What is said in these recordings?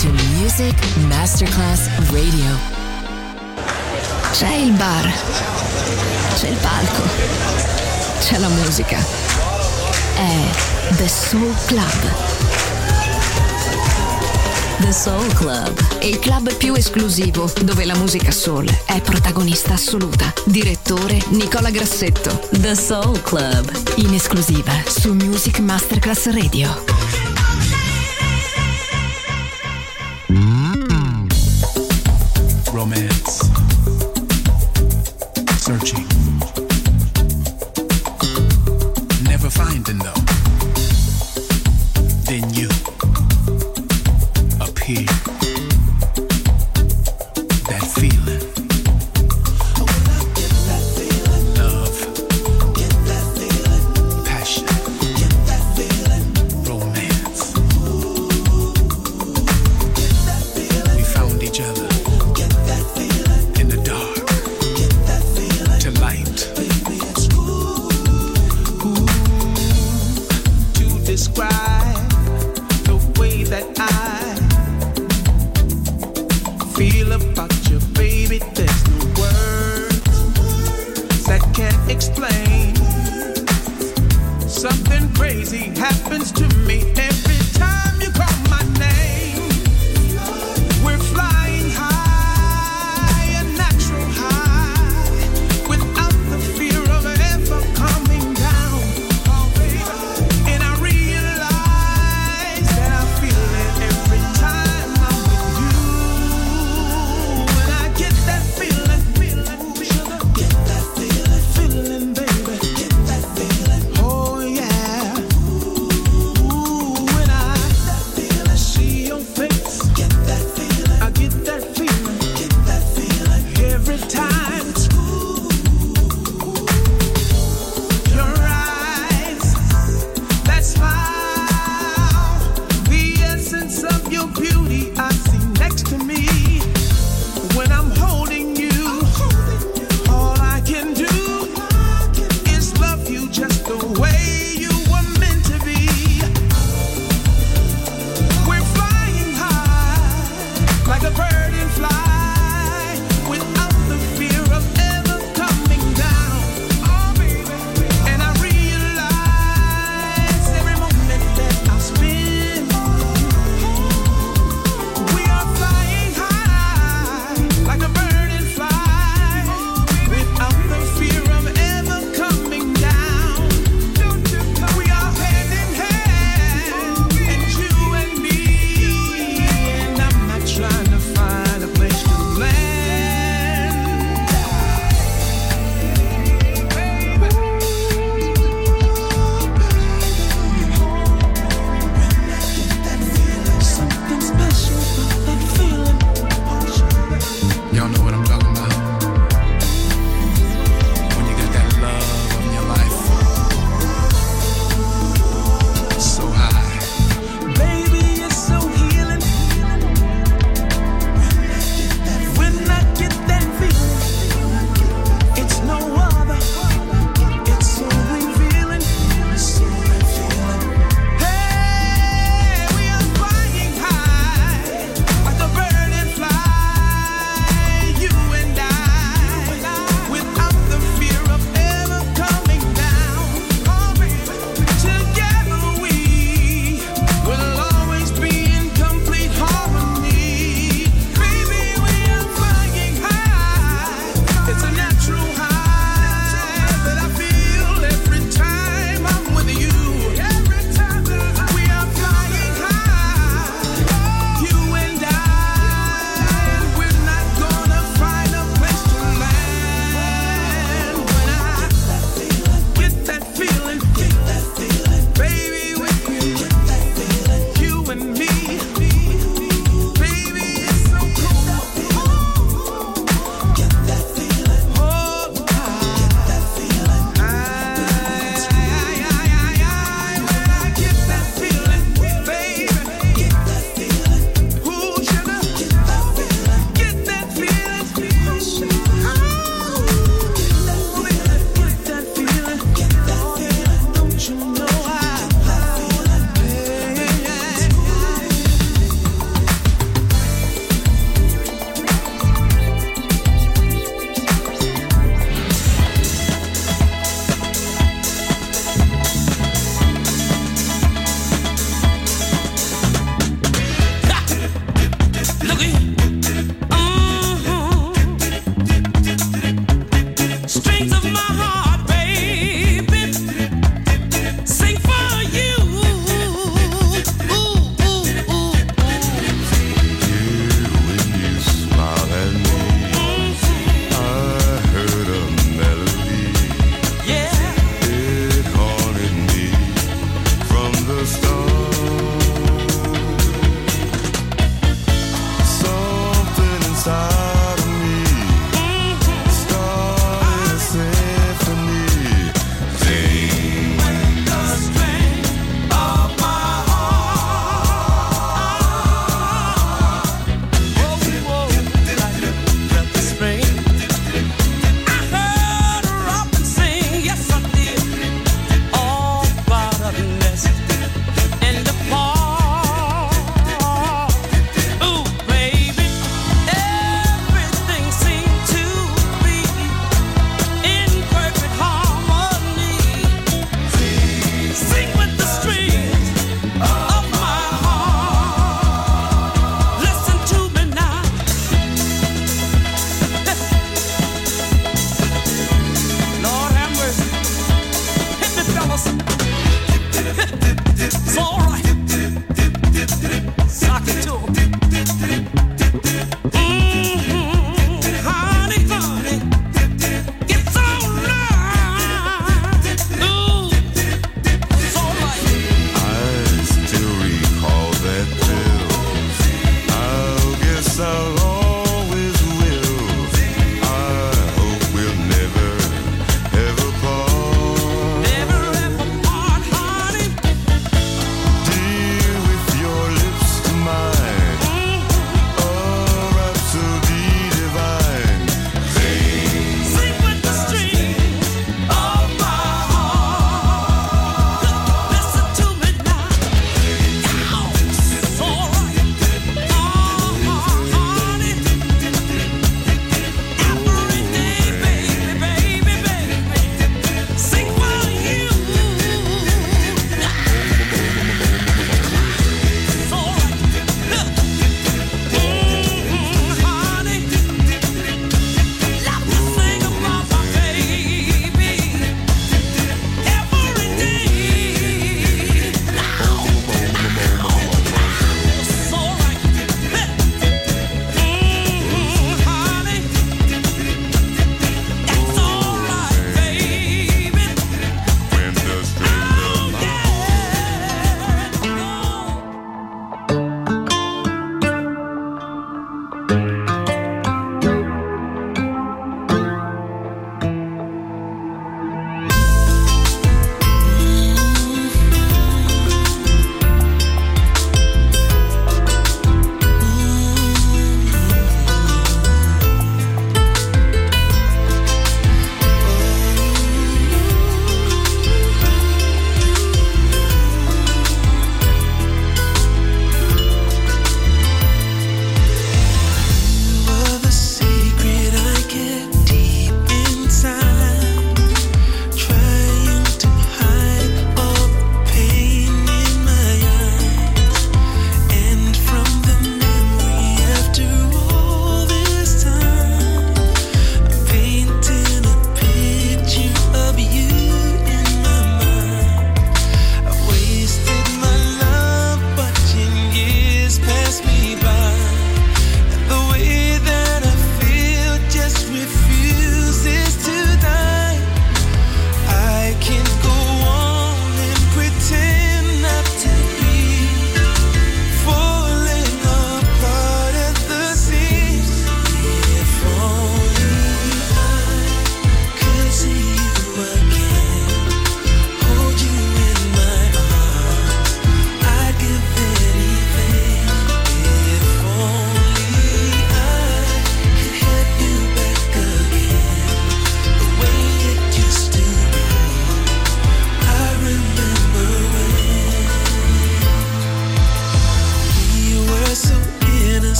to Music Masterclass Radio. C'è il bar, c'è il palco, c'è la musica. È The Soul Club. The Soul Club, il club più esclusivo dove la musica soul è protagonista assoluta. Direttore Nicola Grassetto. The Soul Club, in esclusiva su Music Masterclass Radio. Romance. Searching. Never finding though. Then you appear. That feeling. Love. Passion. Romance. We found each other. In the dark. To light. To describe the way that I feel about you, baby, there's no words that can explain. Something crazy happens to me every time you call my name. We're flying high, a natural high, without the fear of ever coming down. Oh, baby. And I realize that I feel it every time I'm with you. And I get that feeling, sugar, get that feeling, baby, get that feeling. Oh yeah. Ooh, and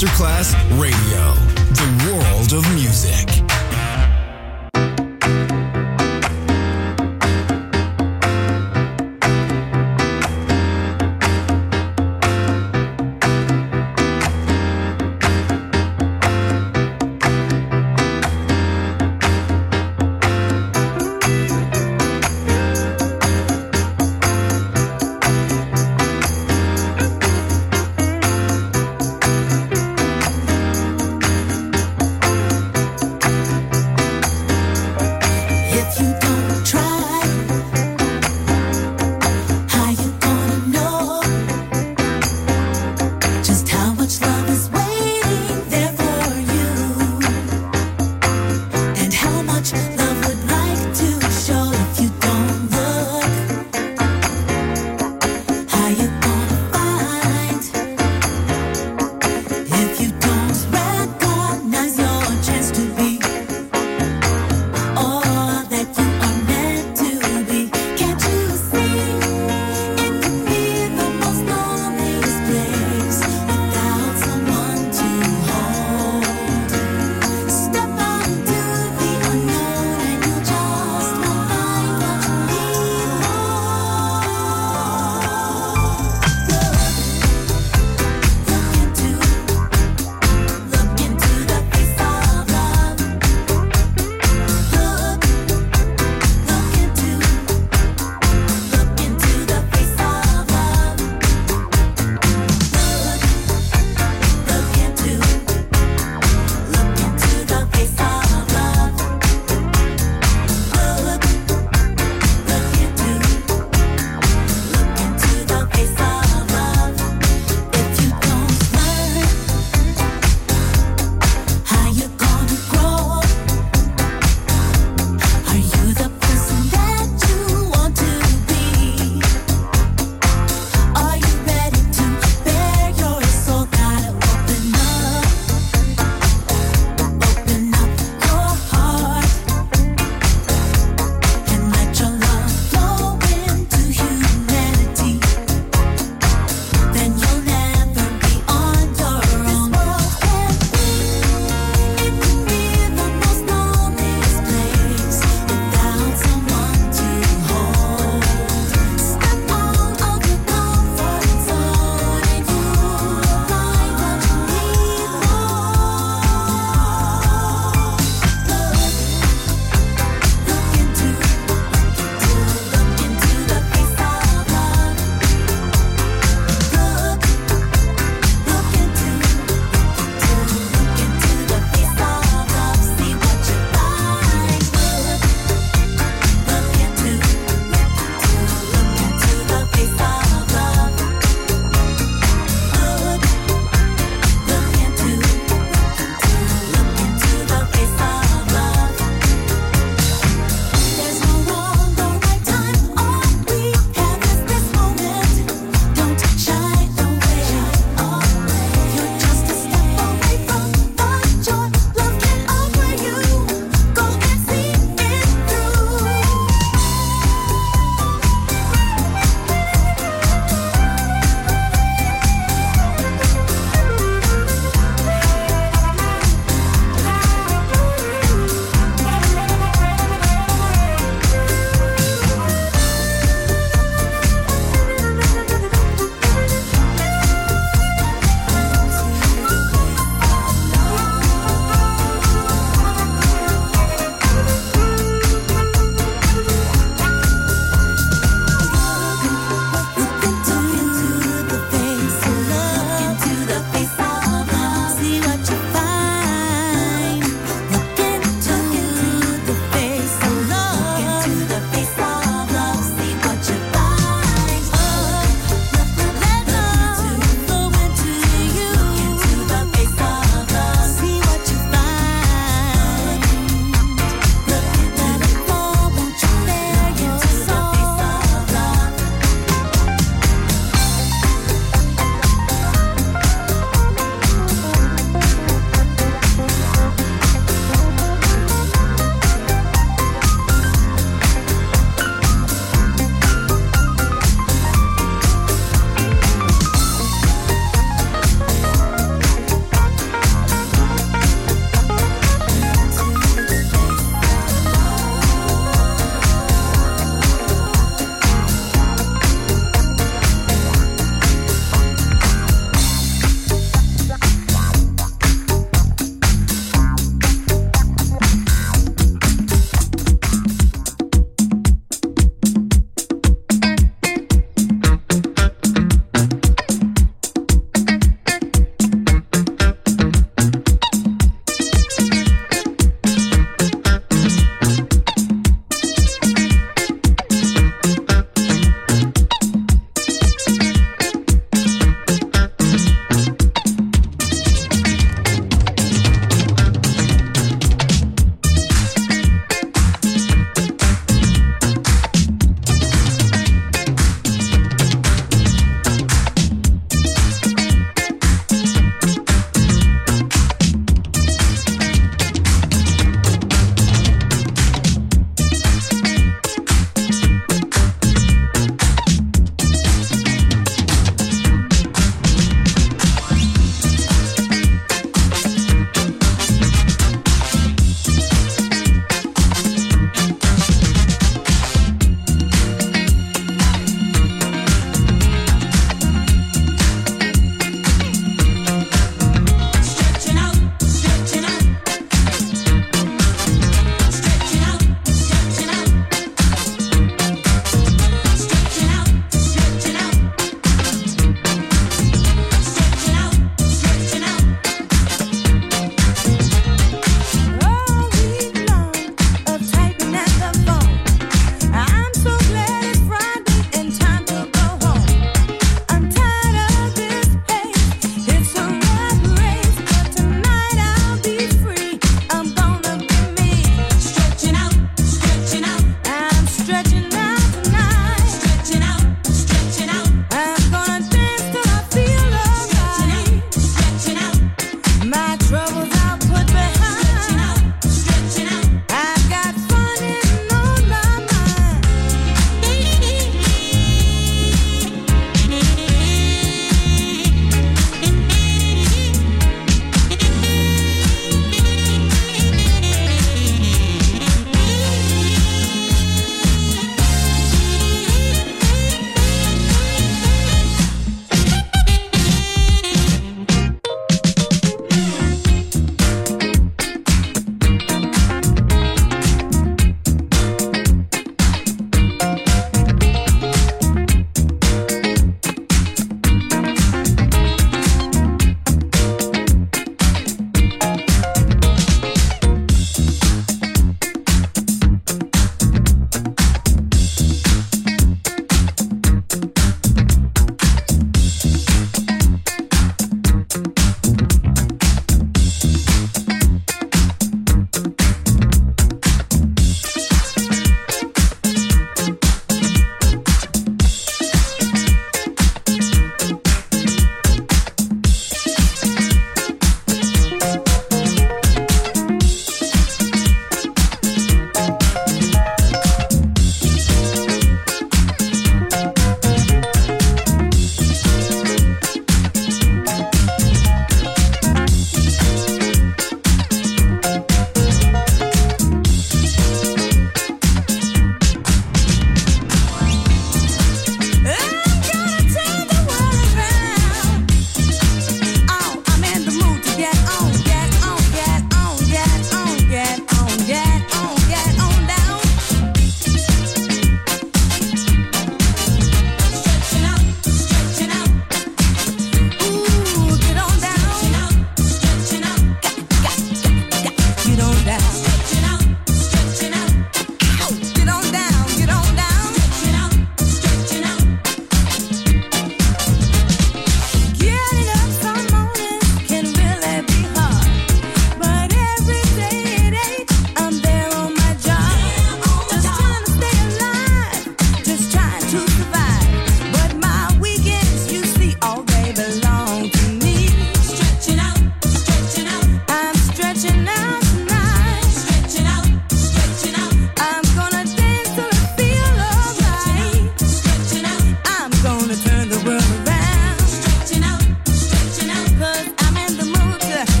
Masterclass Radio, the world of music.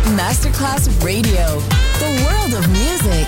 Masterclass Radio. The world of music.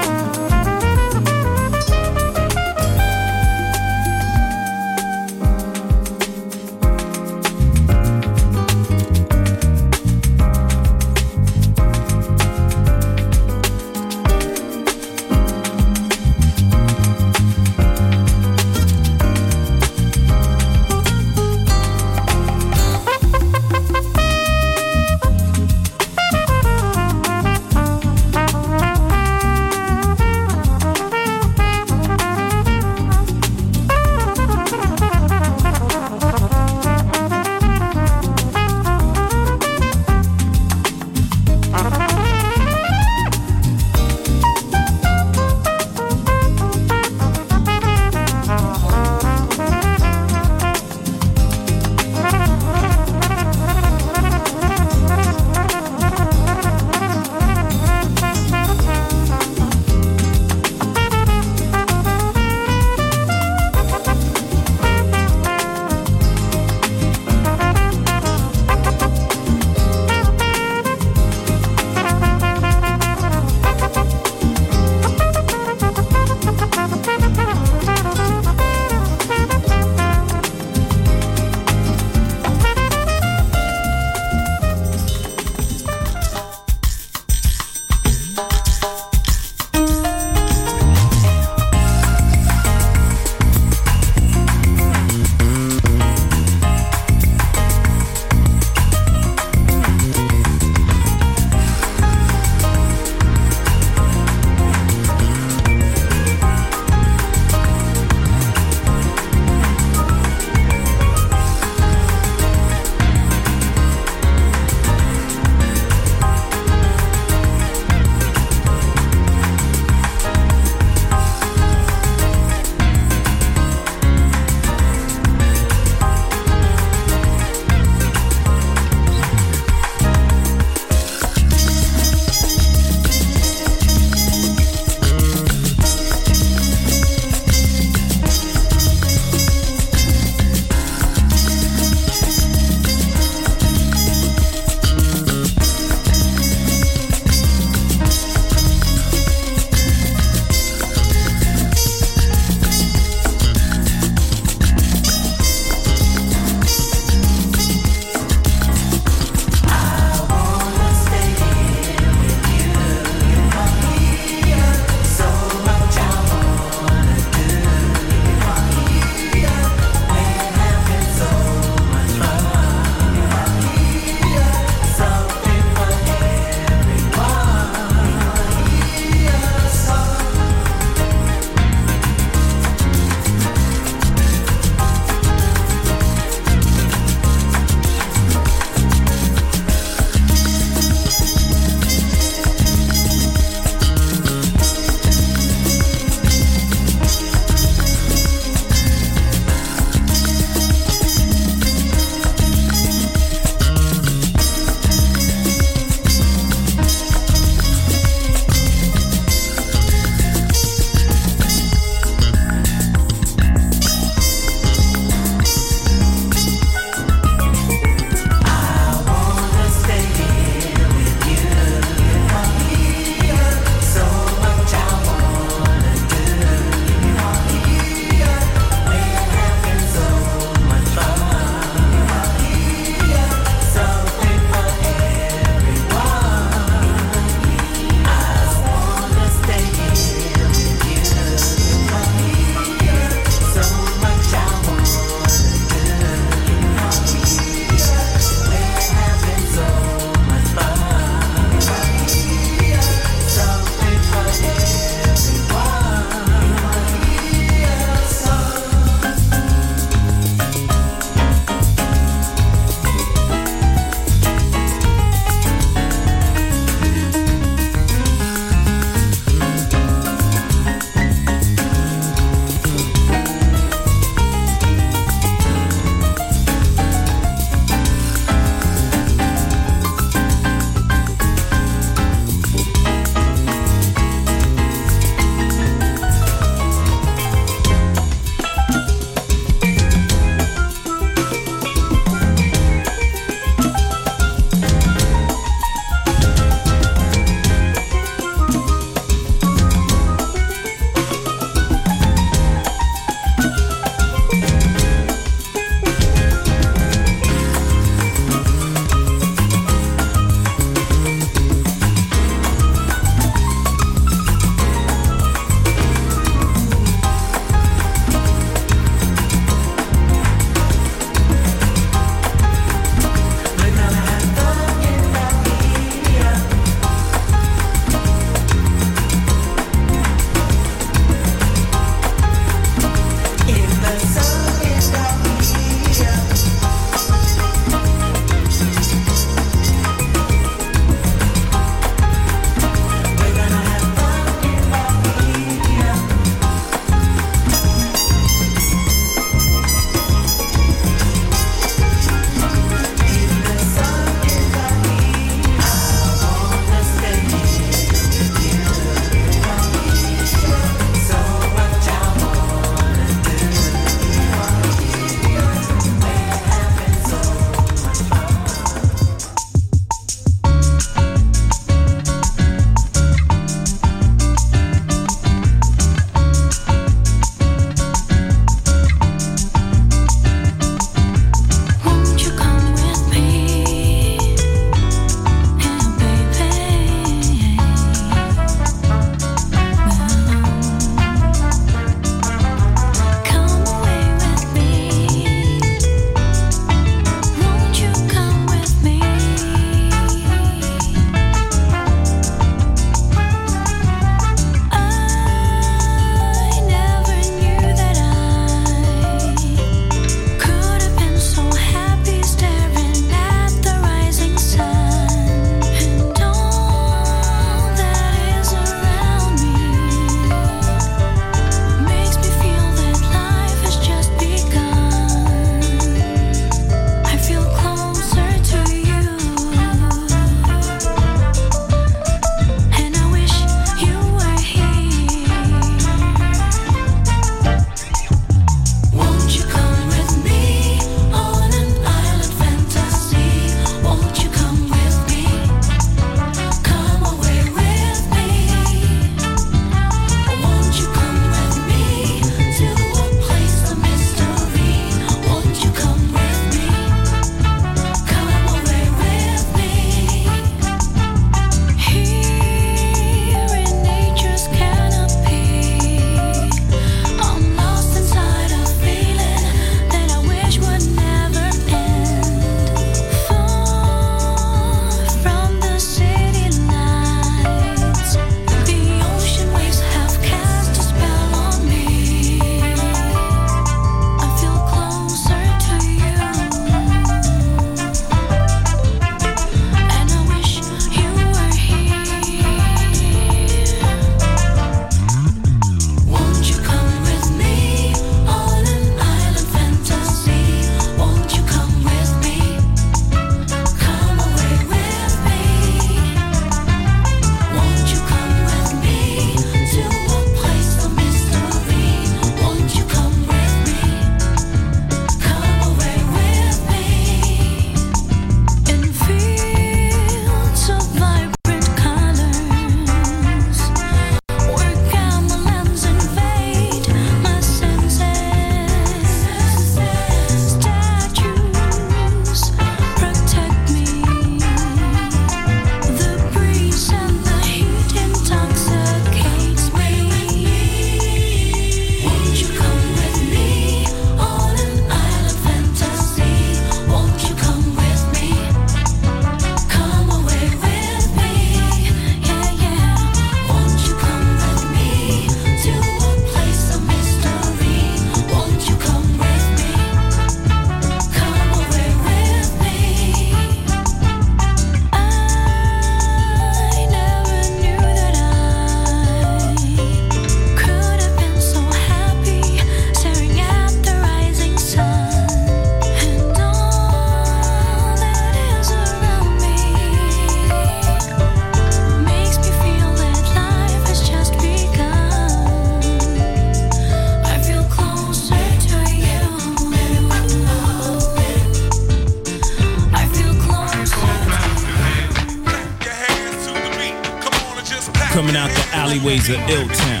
Coming out the alleyways of Ill-Town.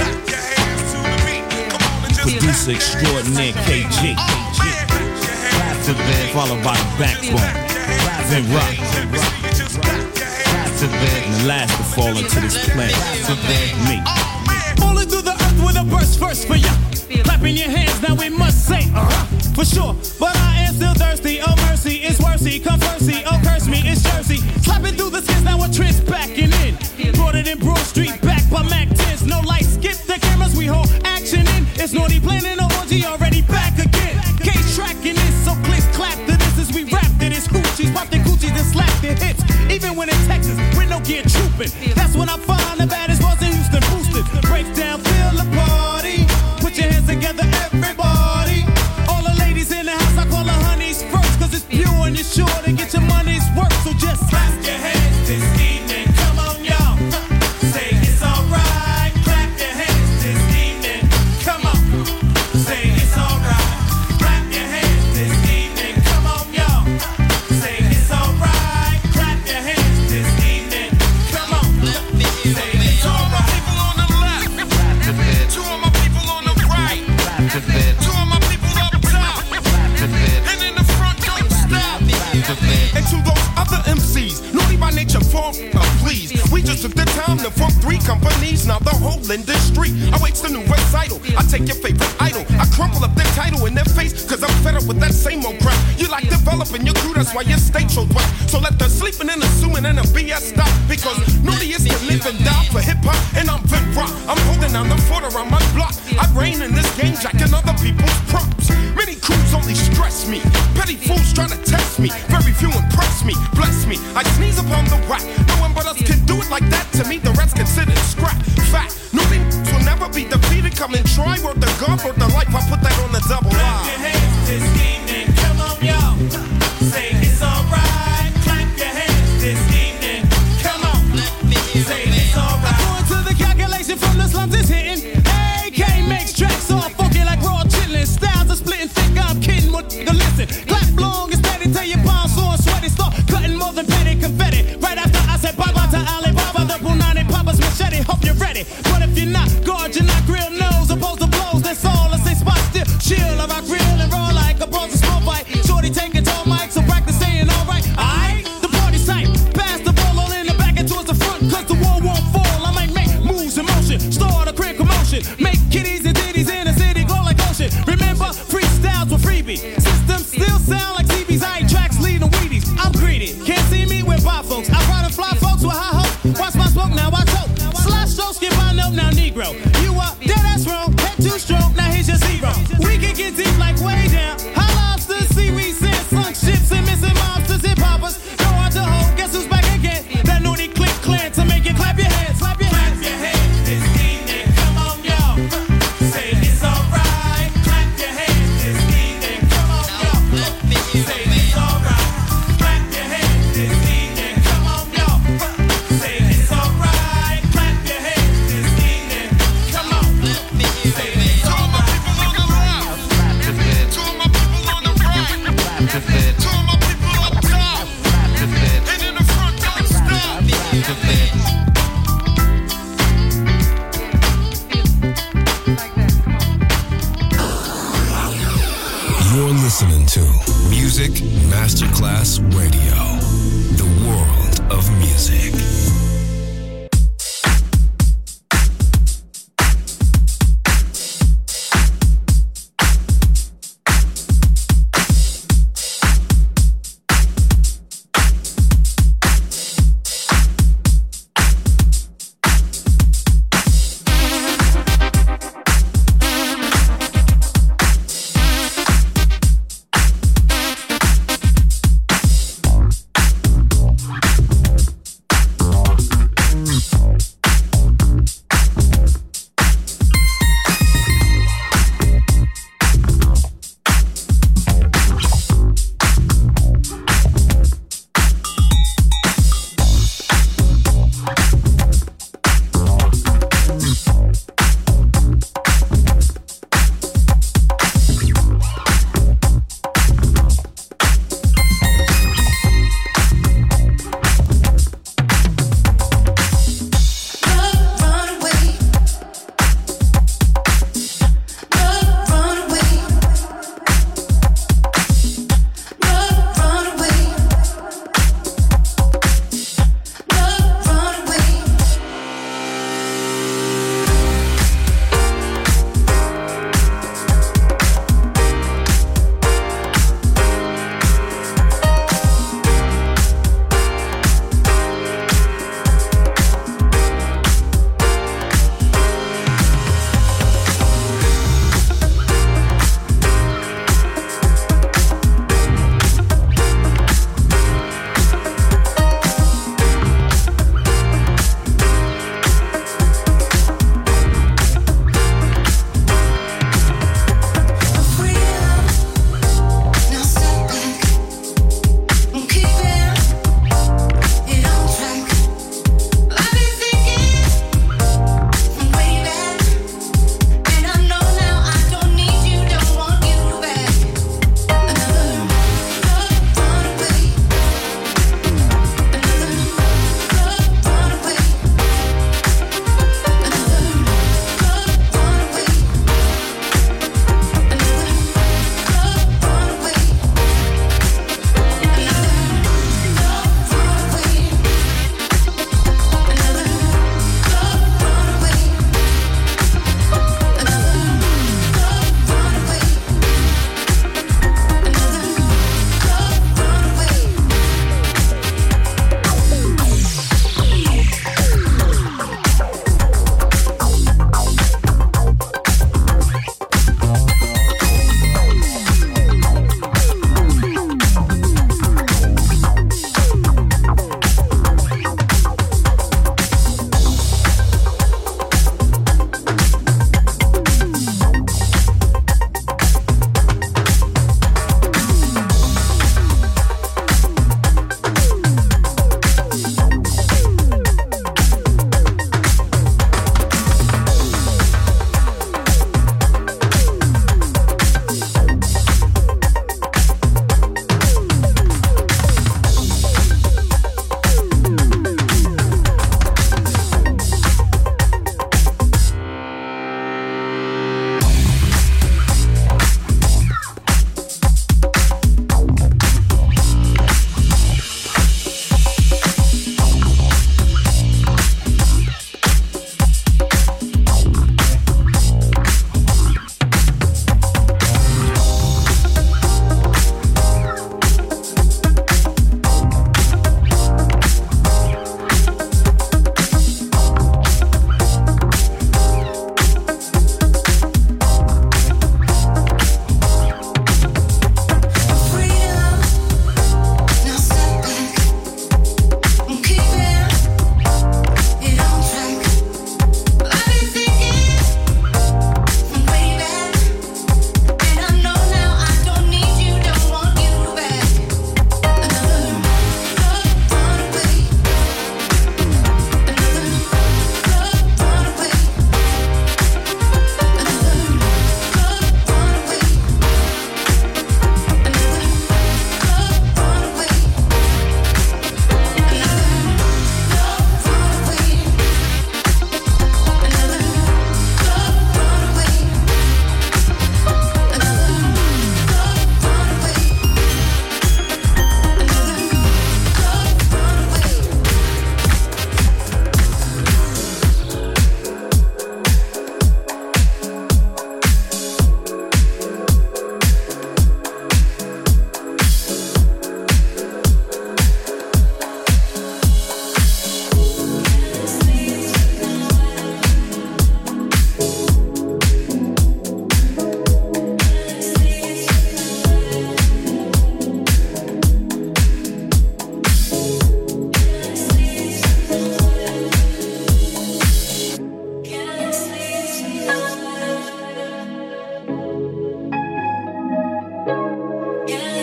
Producer extraordinaire KG. Followed by the Backbone. Then Rock. And the last to fall into this planet. Me. Falling through the earth with a burst first for ya. Clapping your hands, now we must say, for sure. But I am still thirsty. Oh mercy, it's worthy. Come mercy, oh curse me, it's Jersey. Slapping through the skins, now we're trends backing in. Brought it in Broad Street, back by Mac 10s. No lights, skip the cameras, we hold action in. It's naughty planning an orgy, already back again. Case tracking this, so clicks clap to this as we rap to this. Hoochies, pop the coochies and slap the hits. Even when in Texas, with no gear trooping. That's when I find the baddest ones in Houston boosted. Break down, feel the party. Put your hands together, everybody. All the ladies in the house, I call the honeys first. Cause it's pure and you're sure to get your money's worth. So just clap your hands this evening. Come on, y'all. Say it's alright. Clap your hands this evening. Come on. Say it's alright. Clap your hands this evening. Come on, y'all. Say it's alright. Clap your hands this evening. Come on. Say it's alright. People on the left. Two of my people on the right. Two of my people up top. And in the front, don't stop. And to those other MCs, naughty by nature, please. We just took the time to form 3 companies. Now the whole industry awaits the new recital. I take your favorite idol, I crumple up their title in their face, cause I'm fed up with that same old crap. You like developing your crew, that's why your state so whack. So let the sleeping and assuming and the BS stop. Because naughty is to live and die for hip hop, and I'm Vin Rock. I'm holding down the fort around my block. I reign in this game, jacking other people's props. Many crews only stress me. Petty fools trying to test me. Very few impress me, bless me. I sneeze upon the whack. No one but us can do it like that. To me, the rest considered scrap. Fact, naughty will never be defeated. Come and try, word the God, word the life. I put that on the double line. Clap your hands this evening. Come on, y'all. Say it's alright. Clap your hands this evening. Come on. Say it's alright. According to the calculation from the slums, it's hitting. AK makes tracks all funky like raw chillin'. Styles are splitting thick, I'm kidding. What the listen? Clap long and steady till your palms sore and sweaty. Start cutting more than petty confetti. Right after I said bye-bye to Alibaba, the Punani Papa's machete. Hope you're ready. But if you're not, guard your not grill nose. Opposed to blows, that's all. I say spot still. Chill, I rock real and raw like a bronze small fight. Shorty taking tall mic, so practice saying alright. Alright, the party's tight. Pass the ball all in the back and towards the front, cause the wall won't fall. I might make moves in motion, start a quick commotion. Make kitties and ditties in the city go like ocean. Remember, freestyles were freebie. Systems still sound like CB's. I ain't tracks leading Wheaties. I'm greedy. Can't see me with by folks. I ride and fly folks with high hopes. Watch my smoke, now I choke. Slash stroke, skip my note, now Negro. You up, dead ass wrong. Head too strong, now here's your zero. We can get deep like way down. High lobsters, seaweed, sand, sunk ships, and missing mobsters, hip hoppers. No hard to hold, guess who's back again? That naughty click clan to make you clap your hands. Clap your hands. Clap your hands this evening. Come on, y'all. Say it's alright. Clap your hands this evening. Come on, y'all. Say it's alright. Clap your hands this evening. Come on, y'all. Say it's alright. Clap your hands this evening. Come on. Say it's alright. Two of my people on the right. Two of my people up top. And in the front, don't stop. You're listening to Music Masterclass Radio, the world of music.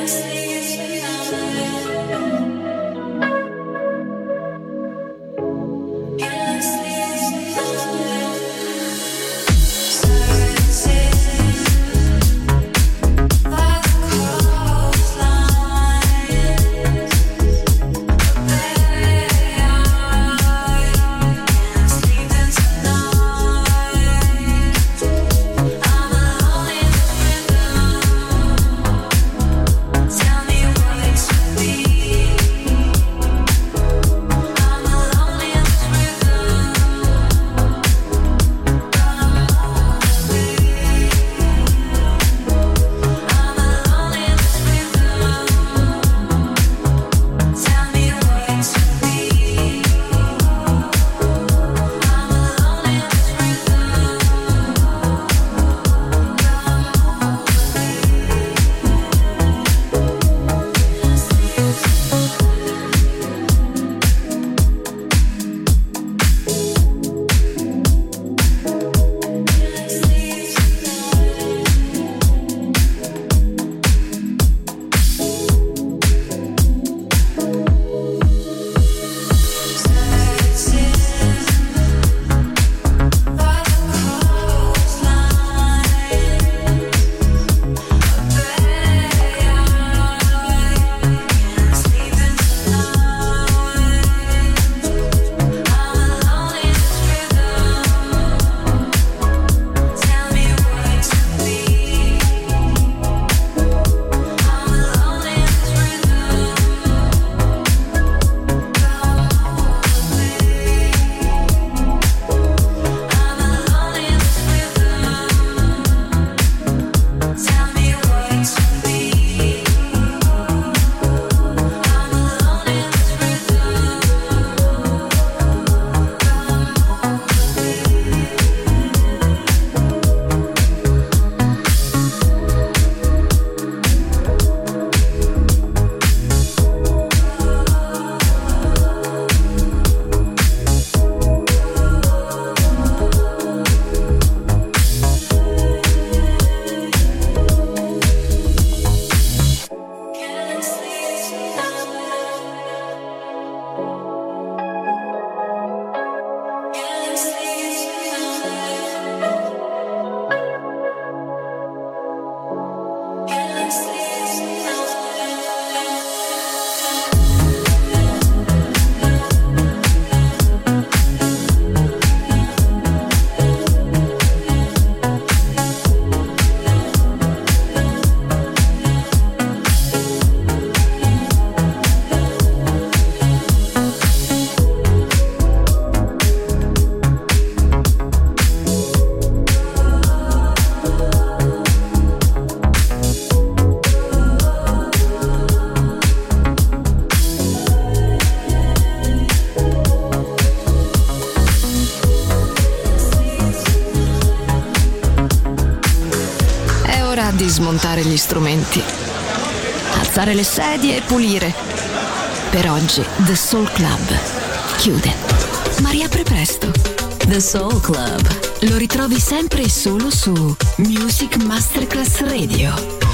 Di smontare gli strumenti, alzare le sedie e pulire. Per oggi The Soul Club chiude, ma riapre presto. The Soul Club lo ritrovi sempre e solo su Music Masterclass Radio.